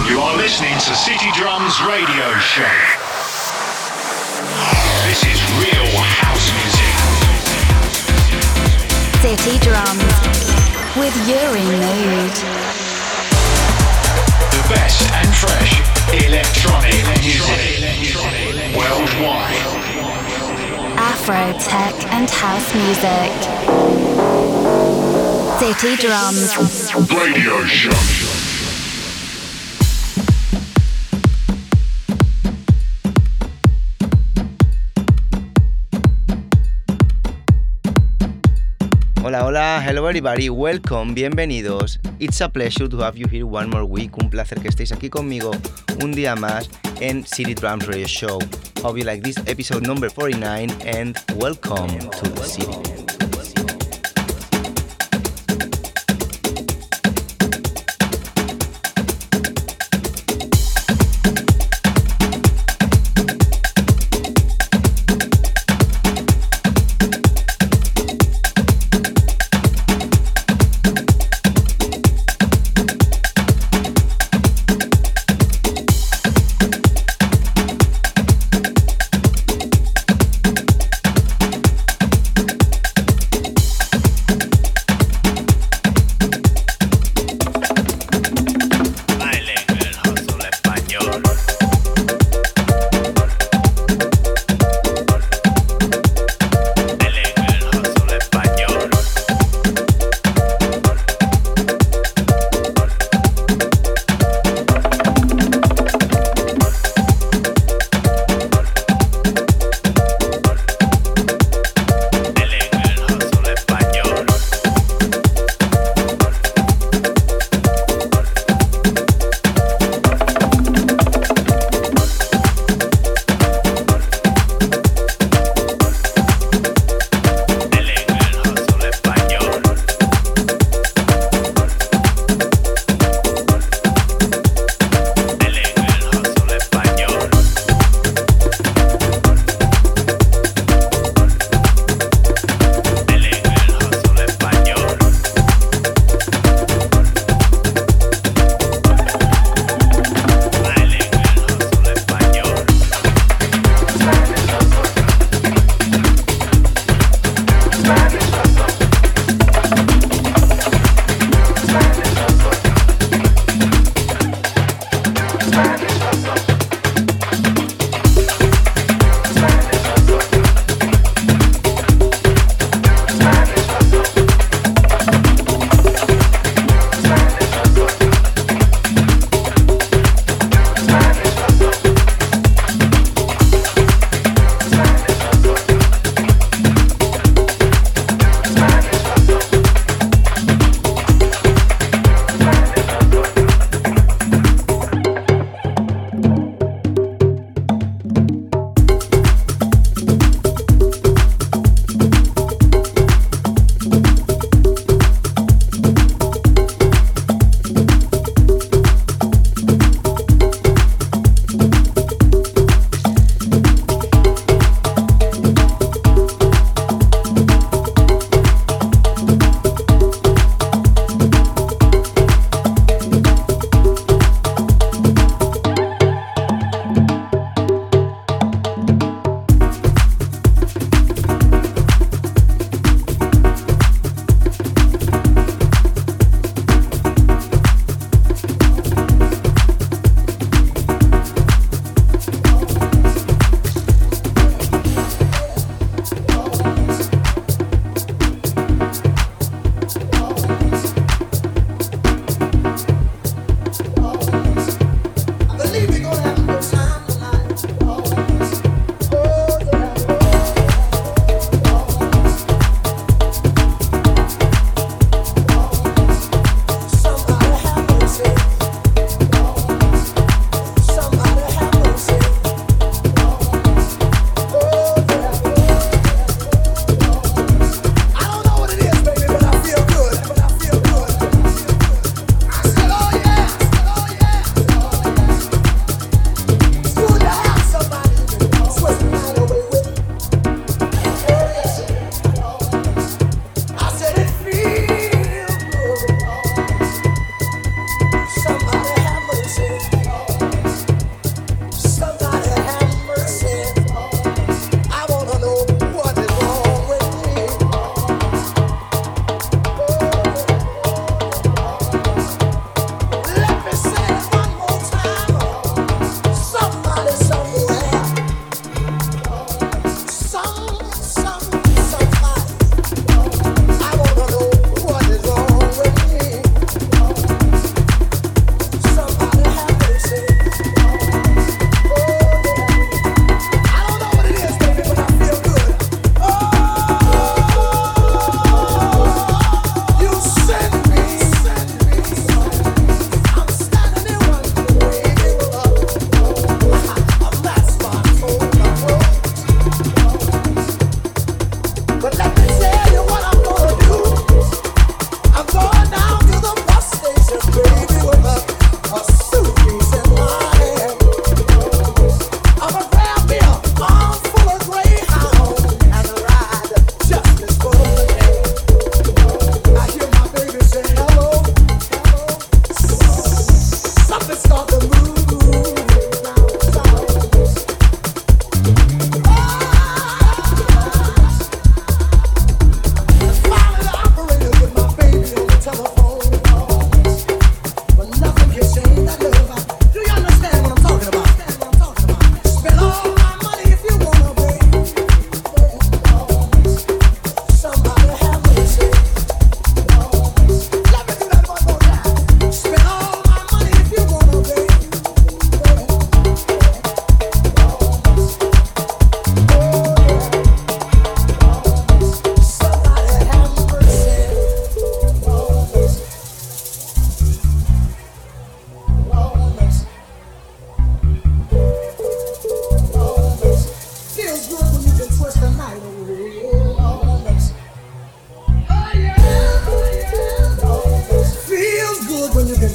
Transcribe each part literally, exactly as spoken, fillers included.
You are listening to City Drums Radio Show. This is real house music. City Drums with Uri Mood. The best and fresh electronic music worldwide. Afro, tech and house music. City Drums Radio Show. Hola, hola, hello everybody, welcome, bienvenidos. It's a pleasure to have you here one more week. Un placer que estéis aquí conmigo un día más en City Drums Radio Show. Hope you like this episode number forty-nine and welcome to the city.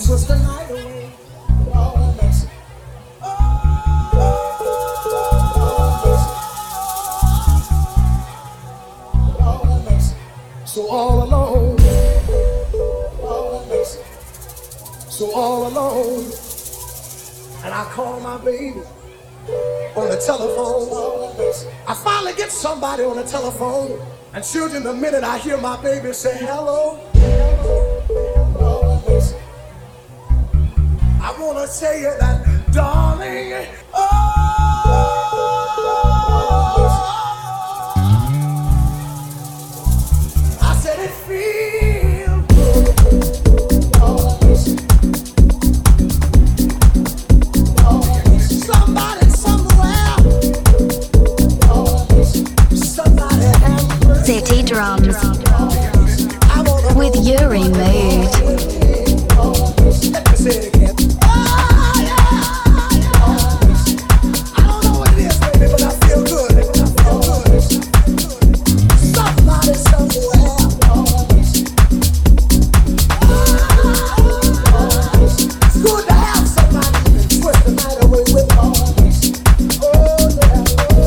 twist the night away. Oh, mercy. Oh, mercy. So all alone. Oh, mercy. So all alone. And I call my baby on the telephone. I finally get somebody on the telephone. And children, the minute I hear my baby say hello, I wanna tell you that, darling. Oh, I said it feels good. Somebody somewhere. Somebody have mercy. City Drums with Yuri Mood. Let me say it again. Oh, yeah. I don't know what it is, baby, but I feel good. I feel good. Somebody somewhere. It's good to have somebody you can twist the night away with. Oh, yeah.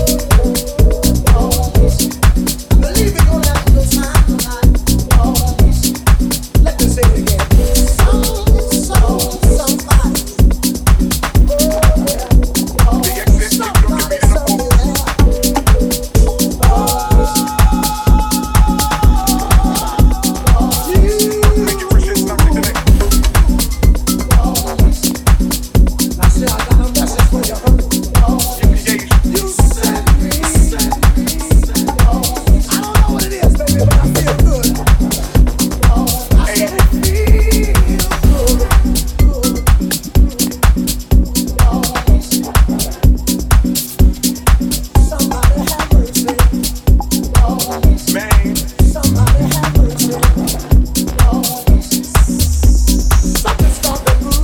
Believe you're gonna have a good time tonight. Let me say it again. Some, some, somebody. Oh, yeah. Somebody somewhere. I said I got a message for you, honey. You sent me. I don't know what it is, baby, but I feel good. I said it feels good. Somebody have mercy. Somebody have mercy. Something started to move.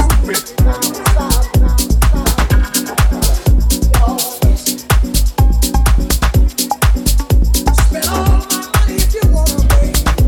Spend all my money if you wanna be.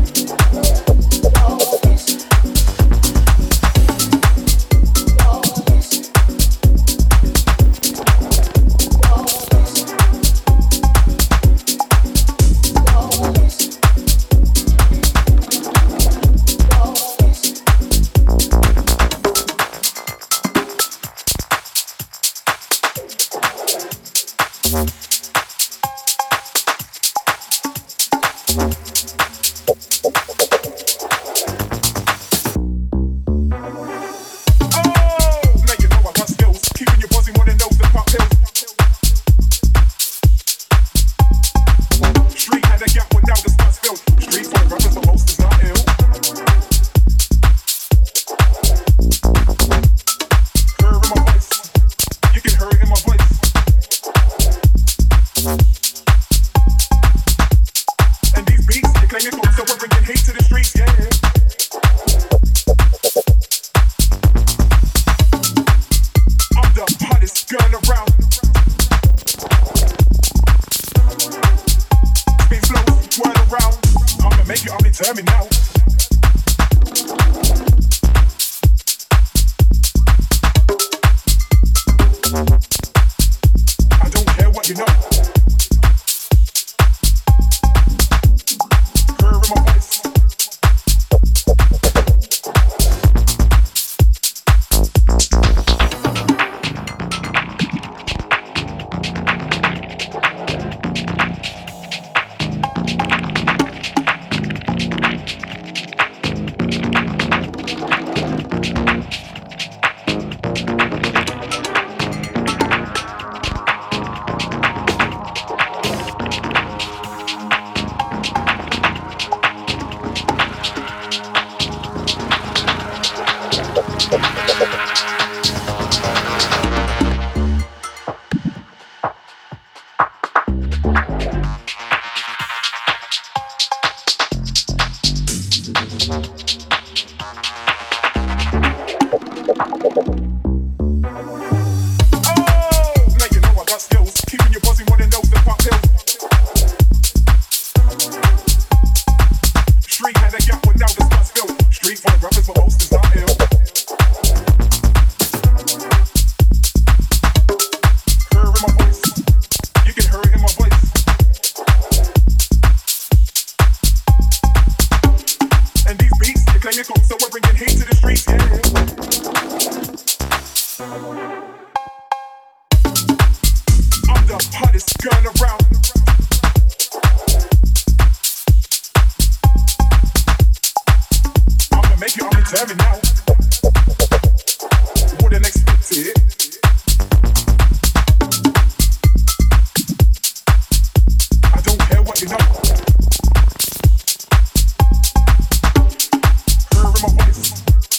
Tell me now. I don't care what you know. Heard in my voice. hottest girl around. I'ma make you understand me now. Wouldn't expect it. I don't care what you know. Hearing my voice.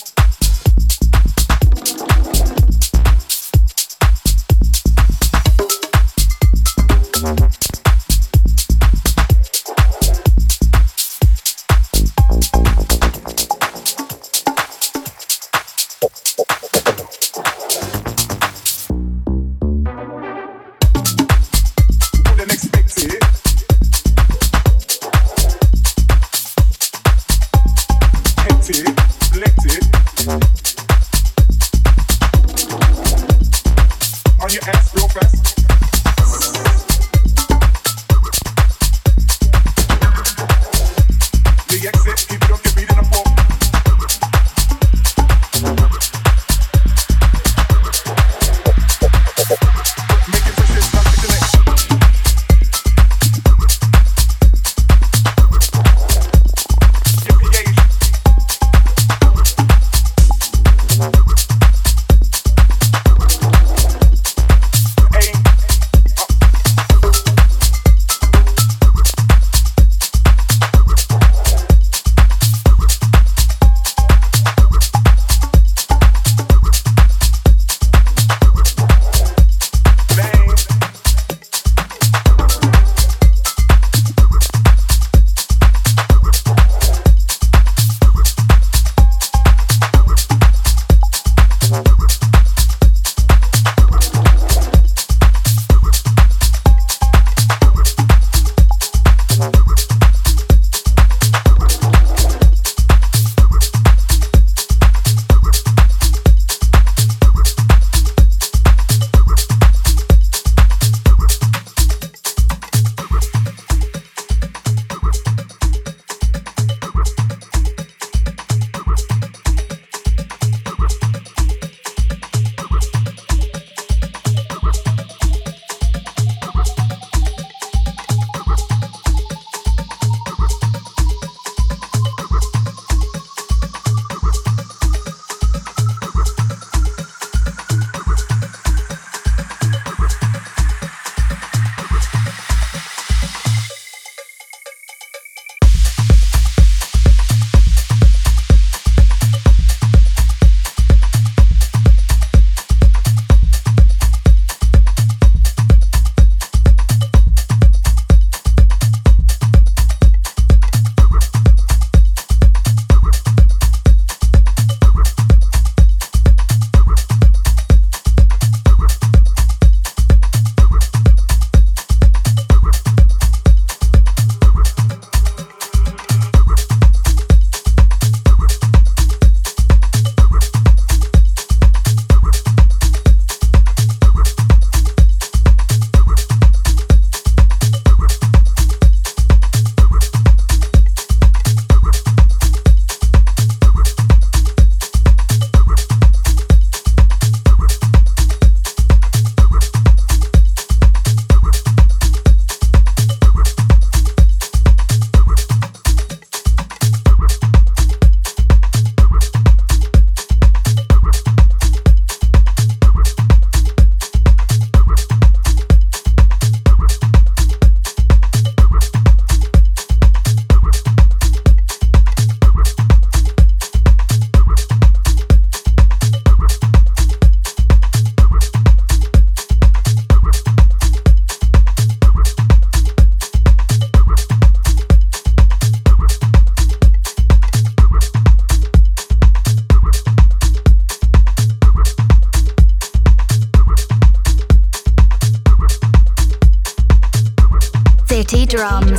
City Drums.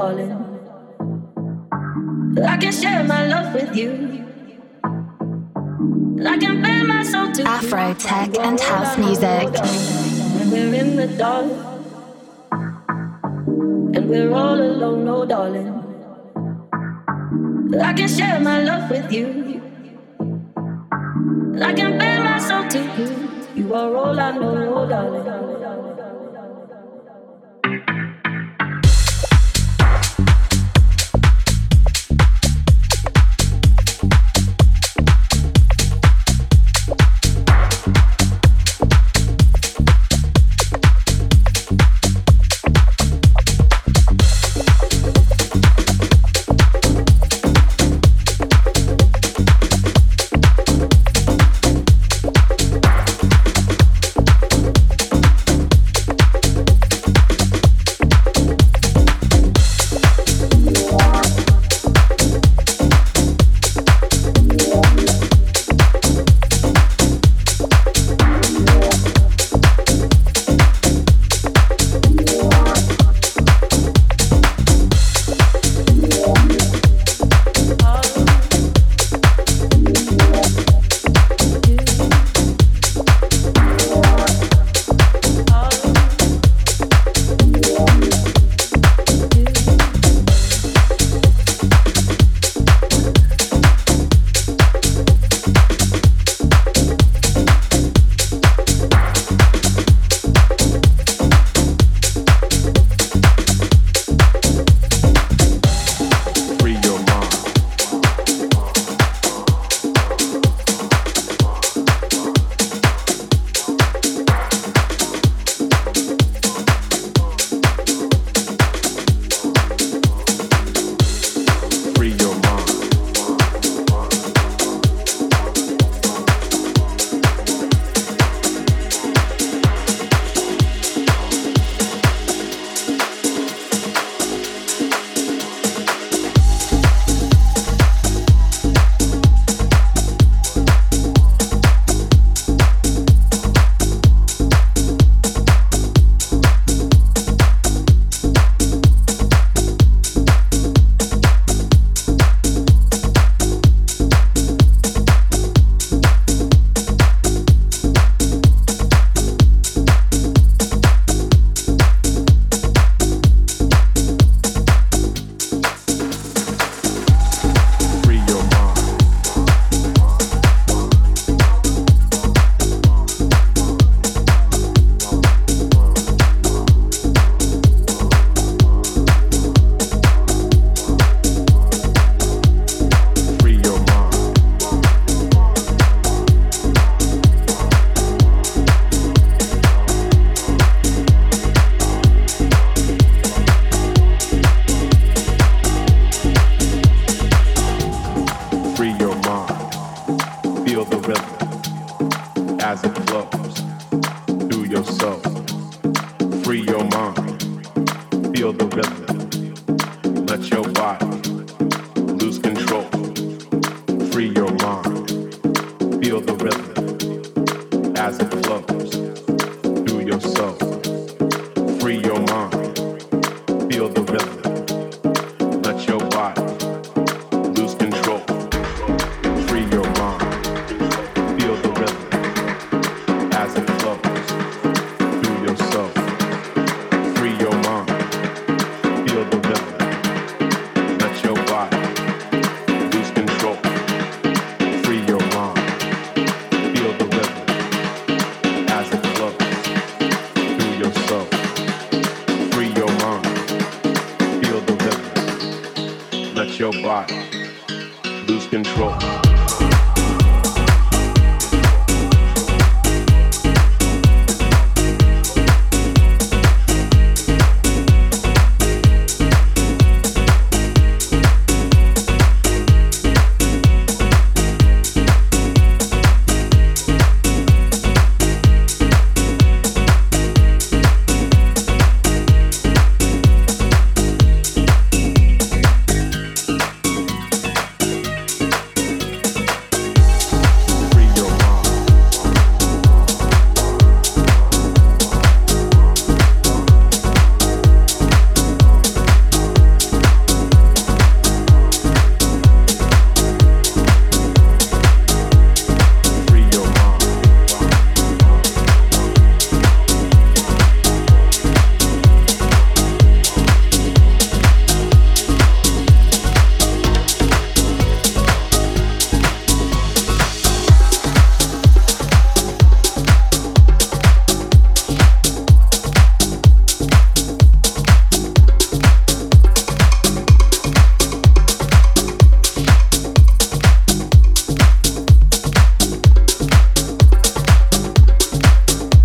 darling. I can share my love with you. I can bend my soul to Afro, tech, and house music. And we're in the dark, and we're all alone, oh darling. I can share my love with you. I can bend my soul to you. You are all I know, oh darling.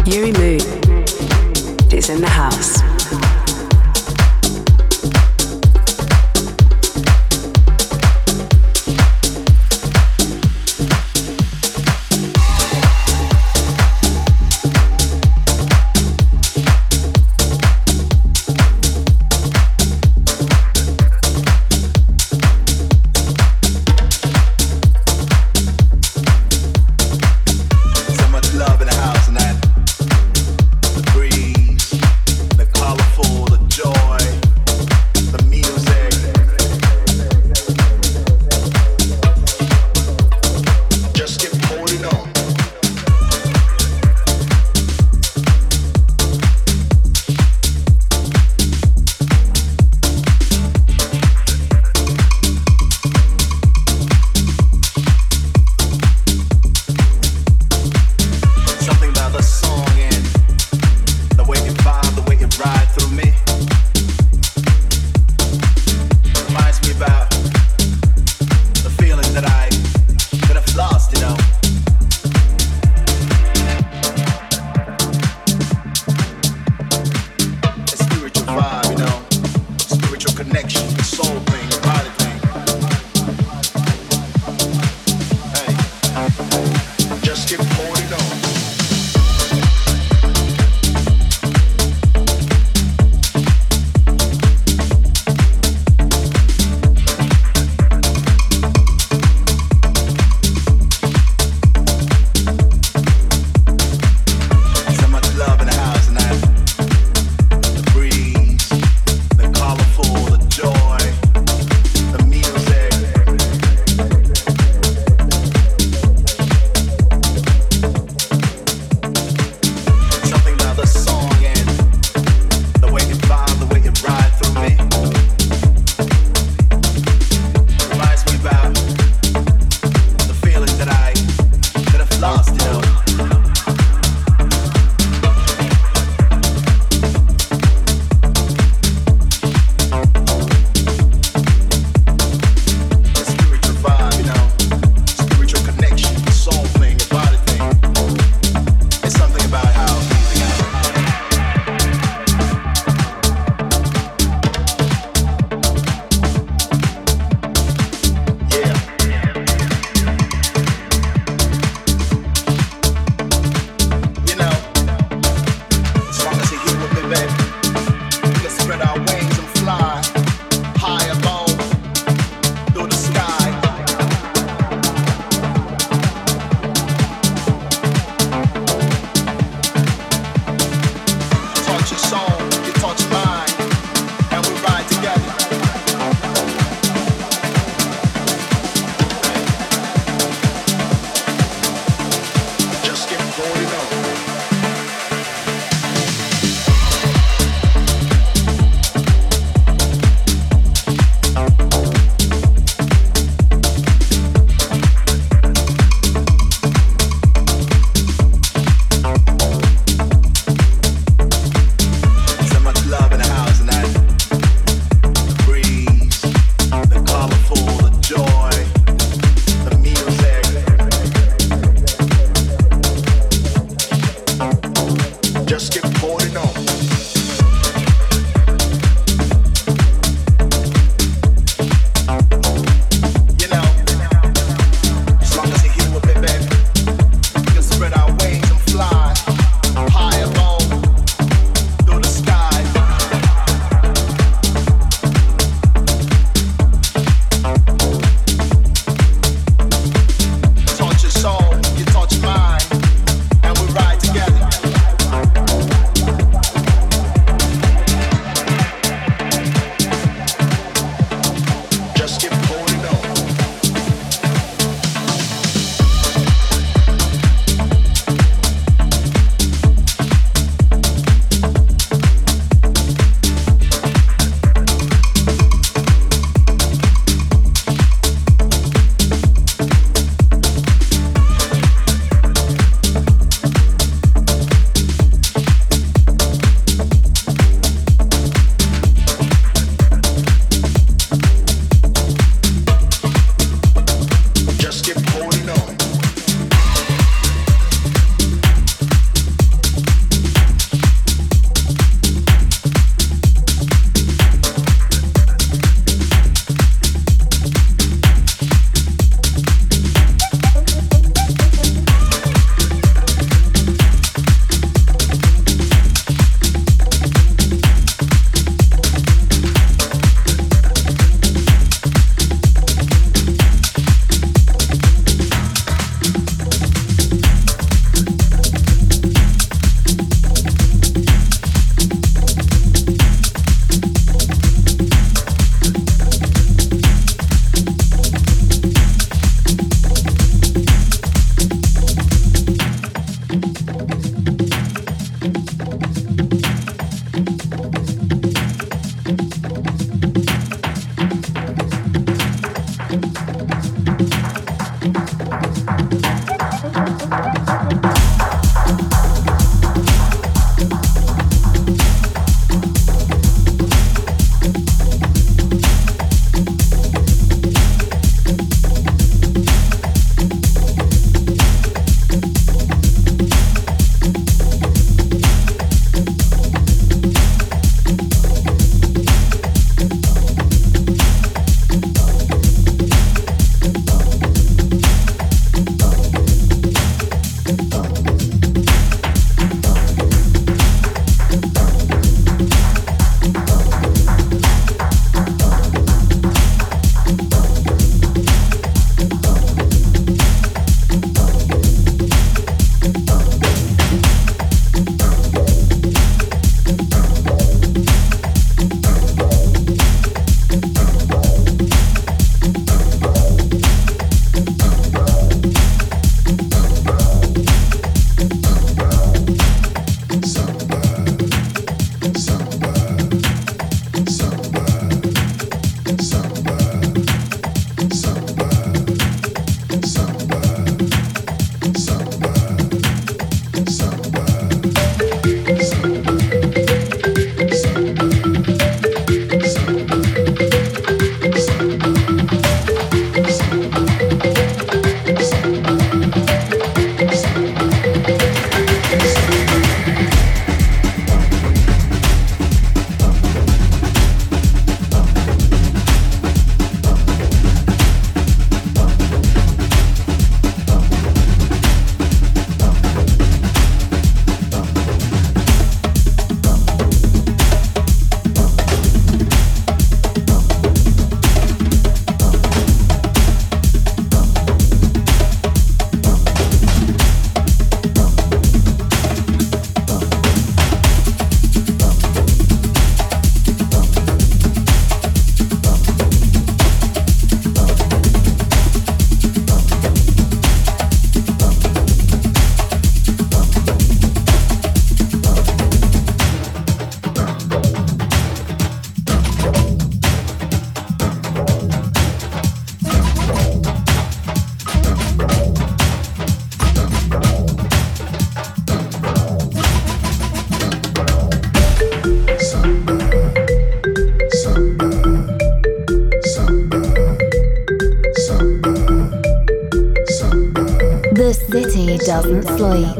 Yuri Moon is in the house. Love in the house tonight. The breeze, the color. The city doesn't sleep.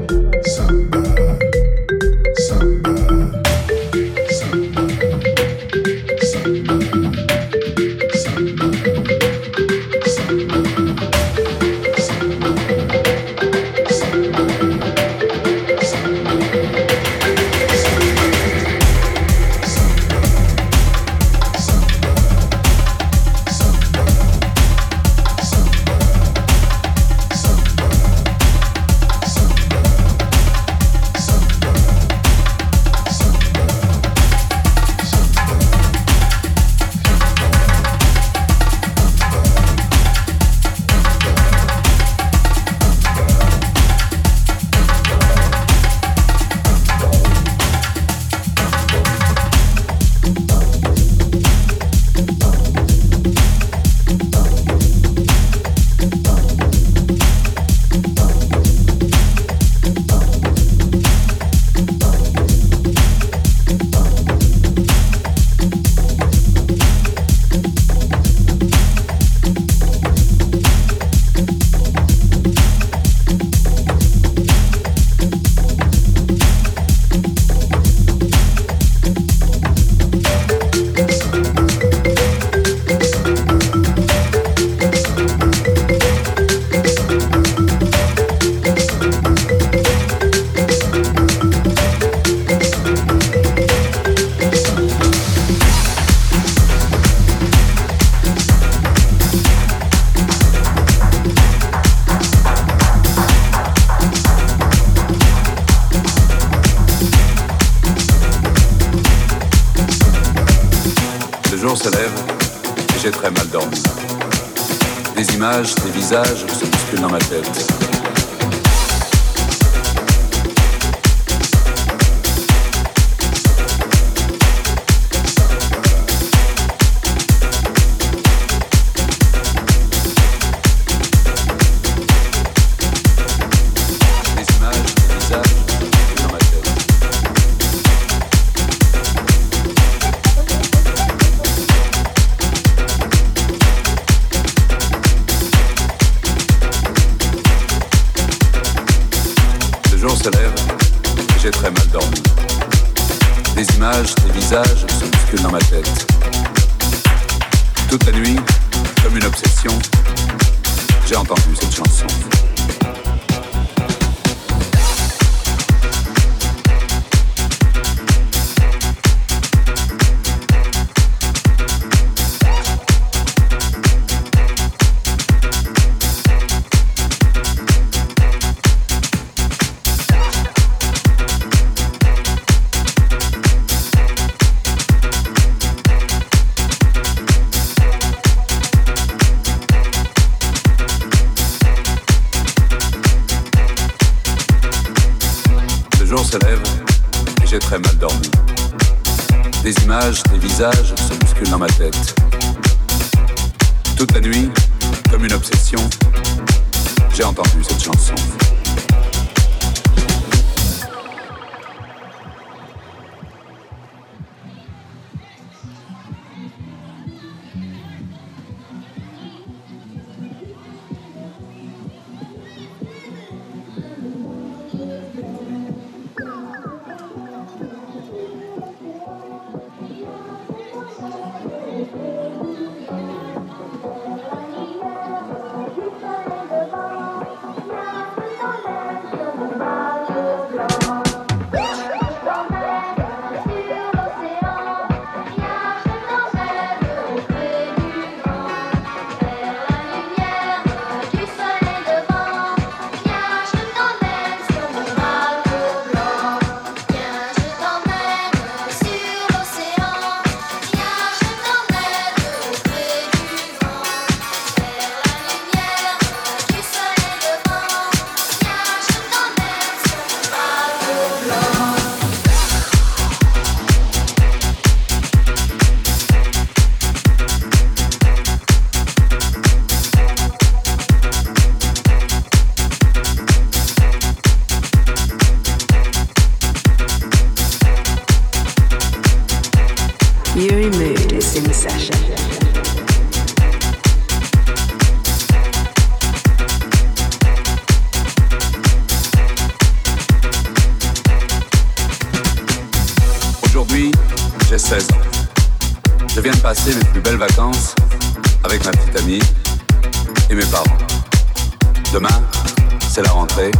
Des visages se bousculent dans ma tête. Des visages se bousculent dans ma tête. Toute la nuit, comme une obsession, j'ai entendu cette chanson. Se lève et j'ai très mal dormi. Des images, des visages se bousculent dans ma tête. Toute la nuit, comme une obsession, j'ai entendu cette chanson. Yuri Mood is in session. seize ans. Je viens de passer mes plus belles vacances avec ma petite amie et mes parents. Demain, c'est la rentrée.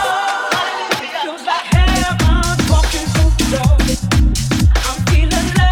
Feeling love.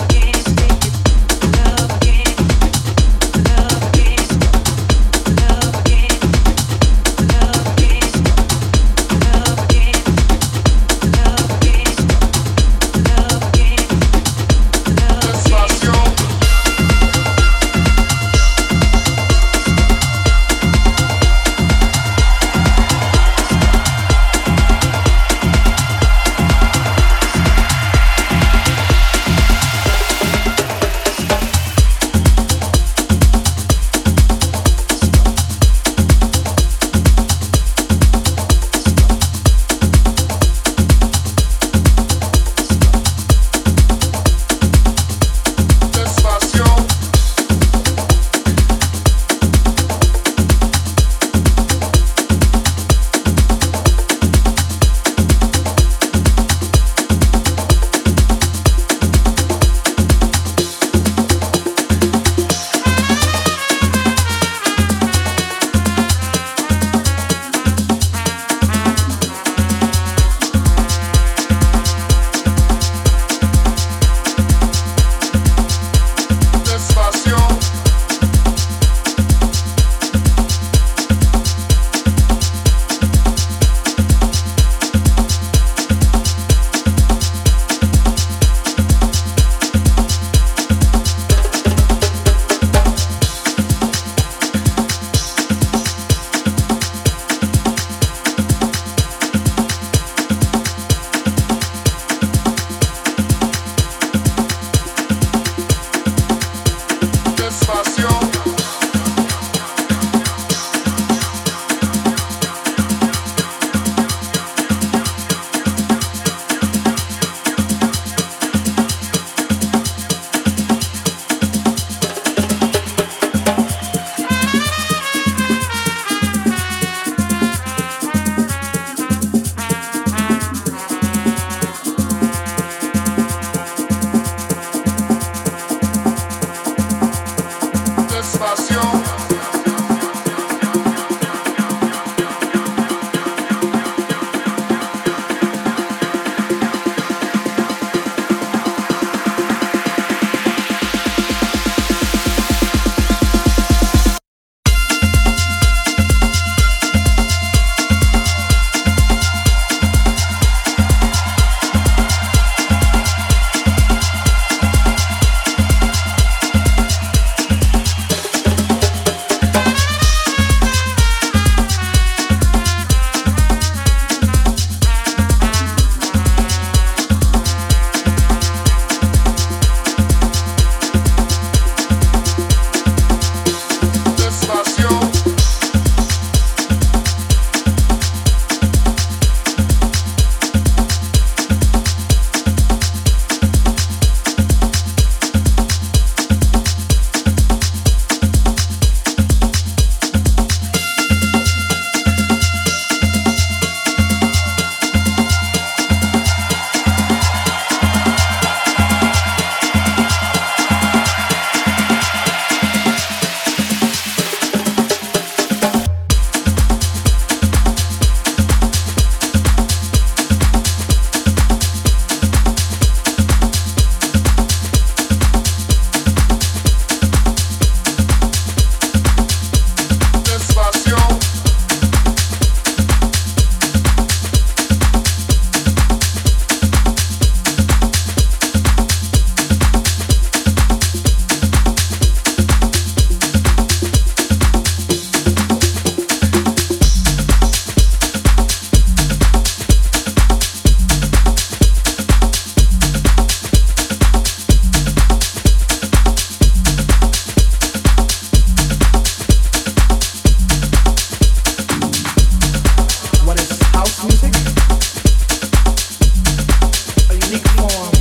unique form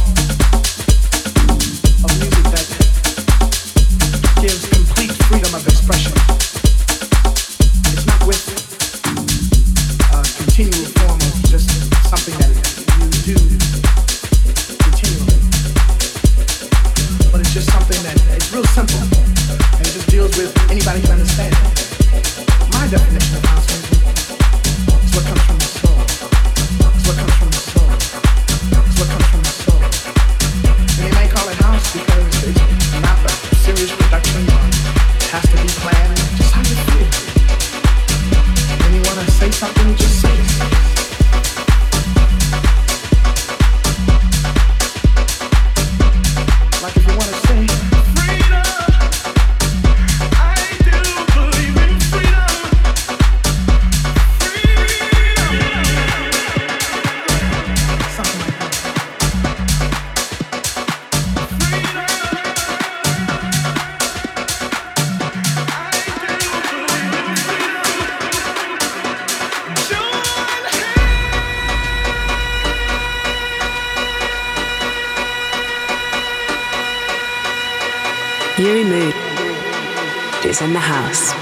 of music that gives complete freedom of expression. It's not with a continual form of just something that you do continually, but it's just something that it's real simple and it just deals with anybody can understand. My definition of house music is what comes from the soul. It's what comes from the soul. It's what comes from the soul. And they may call it house because it's not a serious production. It has to be planned just how you feel. When you want to say something, just say it. Like if you want to say freedom, I do believe in freedom. Something like that. Yuri Mood is in the house.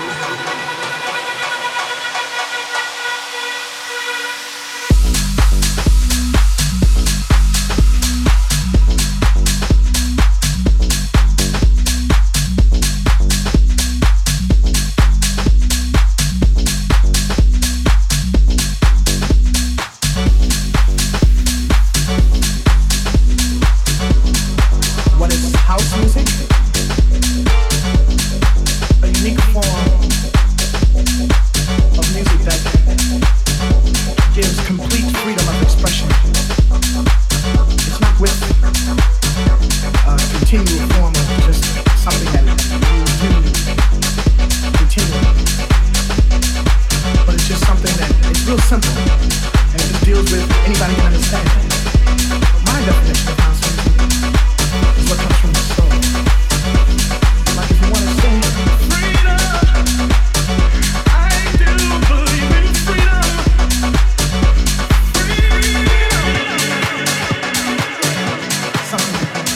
What is house music? A unique form of music that gives complete freedom of expression. It's not with a continual form of just something that you do continually, but it's just something that it's real simple and it just deals with anybody can understand. My definition of house music is what comes from the soul. Like if you want to say freedom, I do believe in freedom. Freedom. Something like that.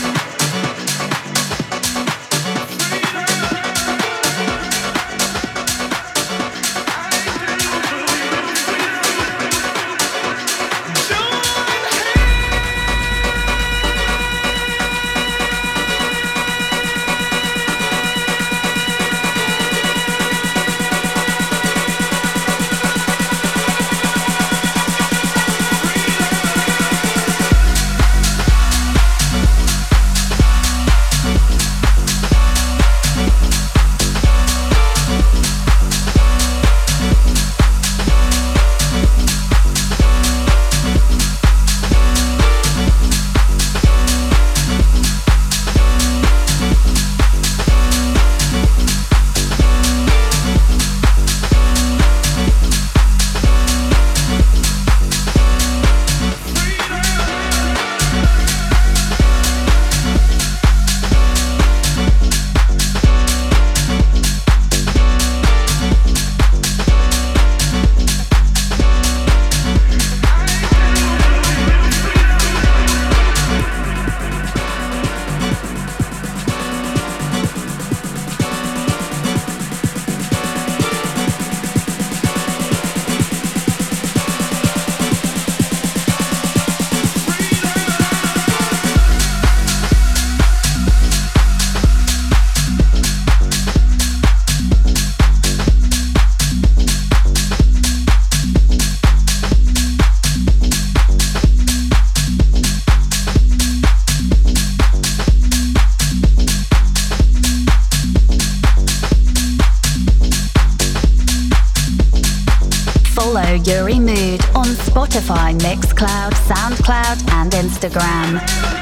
Follow Yuri Mood on Spotify, Mixcloud, Soundcloud, and Instagram.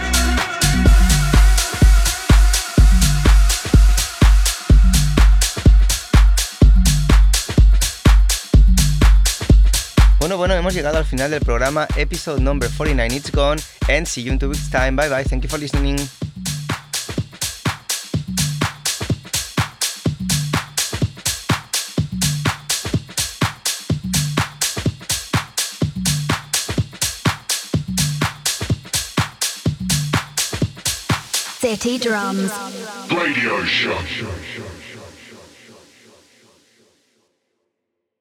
Bueno, bueno, hemos llegado al final del programa, episode number forty-nine, it's gone, and see you in two weeks' time. Bye bye, thank you for listening. City Drums Radio Show.